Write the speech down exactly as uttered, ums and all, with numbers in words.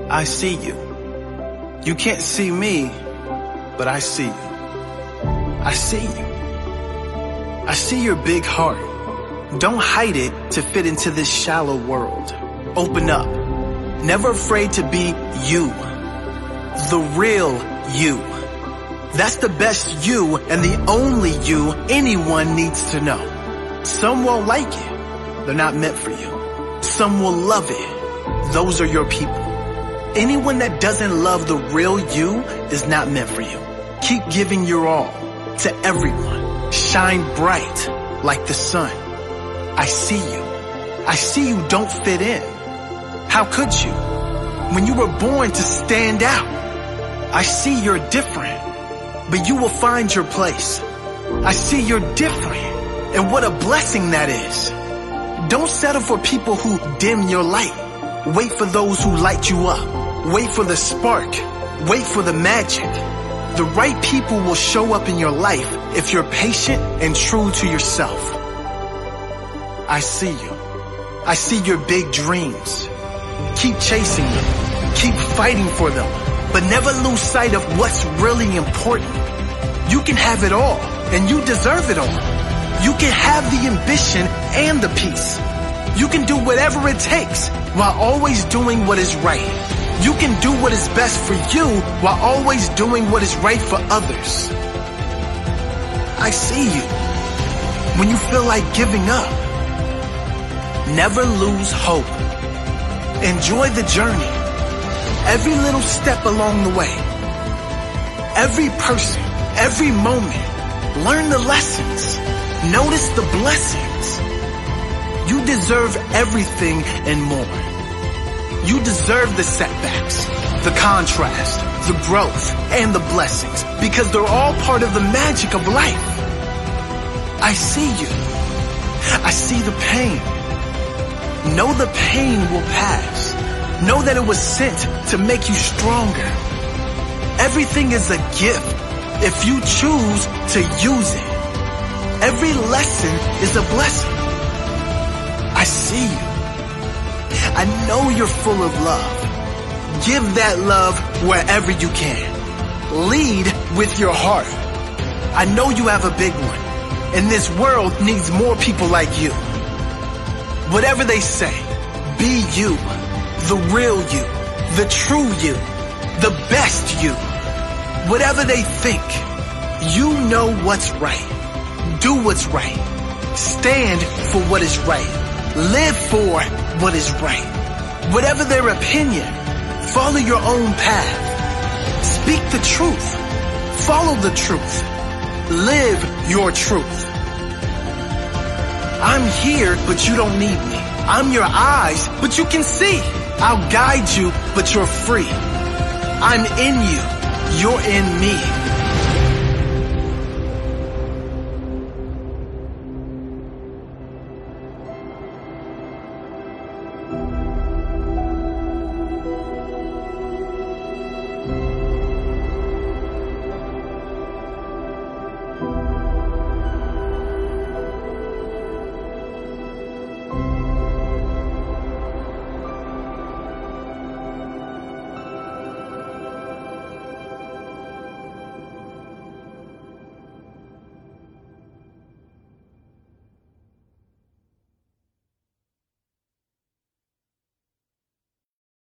I see you. You can't see me, but I see you. I see you. I see your big heart. Don't hide it to fit into this shallow world. Open up. Never afraid to be you. The real you. That's the best you and the only you anyone needs to know. Some won't like it. They're not meant for you. Some will love it. Those are your people. Anyone that doesn't love the real you is not meant for you. Keep giving your all to everyone. Shine bright like the sun. I see you. I see you don't fit in. How could you? When you were born to stand out. I see you're different, but you will find your place. I see you're different, and what a blessing that is. Don't settle for people who dim your light. Wait for those who light you up. Wait for the spark. Wait for the magic. The right people will show up in your life if you're patient and true to yourself. I see you. I see your big dreams. Keep chasing them. Keep fighting for them. But never lose sight of what's really important. You can have it all, and you deserve it all. You can have the ambition and the peace. You can do whatever it takes while always doing what is right. You can do what is best for you while always doing what is right for others. I see you. When you feel like giving up, never lose hope. Enjoy the journey. Every little step along the way. Every person, every moment. Learn the lessons. Notice the blessings. You deserve everything and more. You deserve the setbacks, the contrast, the growth, and the blessings, because they're all part of the magic of life. I see you. I see the pain. Know the pain will pass. Know that it was sent to make you stronger. Everything is a gift if you choose to use it. Every lesson is a blessing. I see you. I know you're full of love. Give that love wherever you can. Lead with your heart. I know you have a big one, and this world needs more people like you. Whatever they say, be you, the real you, the true you, the best you. Whatever they think, you know what's right. Do what's right. Stand for what is right. Live for what is right. Whatever their opinion, follow your own path. Speak the truth. Follow the truth. Live your truth. I'm here, but you don't need me. I'm your eyes, but you can see. I'll guide you, but you're free. I'm in you. You're in me.